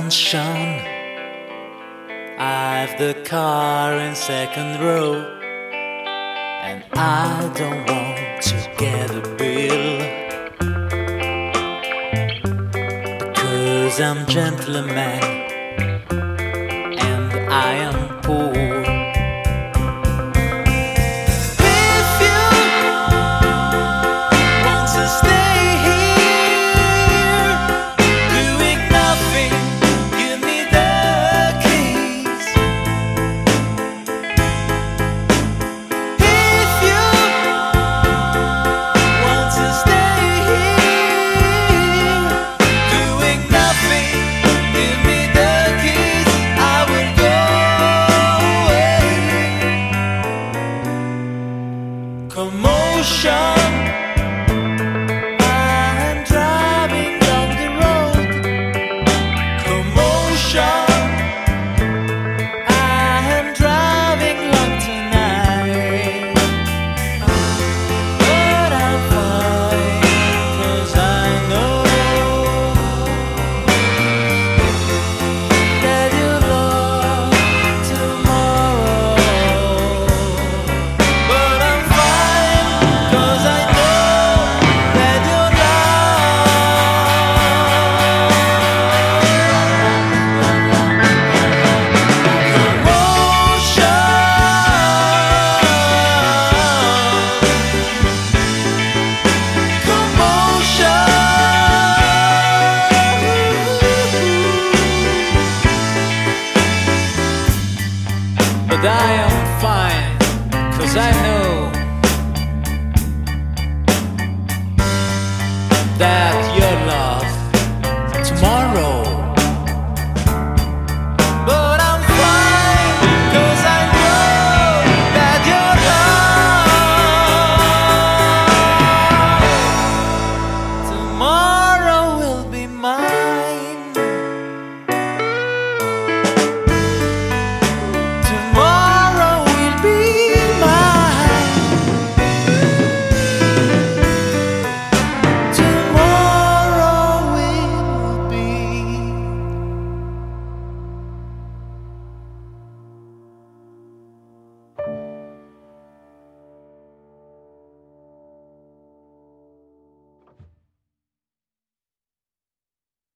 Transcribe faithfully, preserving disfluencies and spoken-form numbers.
mansion. I've the car in second row, and I don't want to get a bill, because I'm gentleman and I am poor. Commotion, I'm driving down the road. Commotion, I'm driving long tonight. But I'm fine, 'cause I know that you'll love tomorrow. But I'm fine, 'cause I know that you'll But I am fine, 'cause I know that you'll love tomorrow. But I'm fine, 'cause I know that you'll love tomorrow.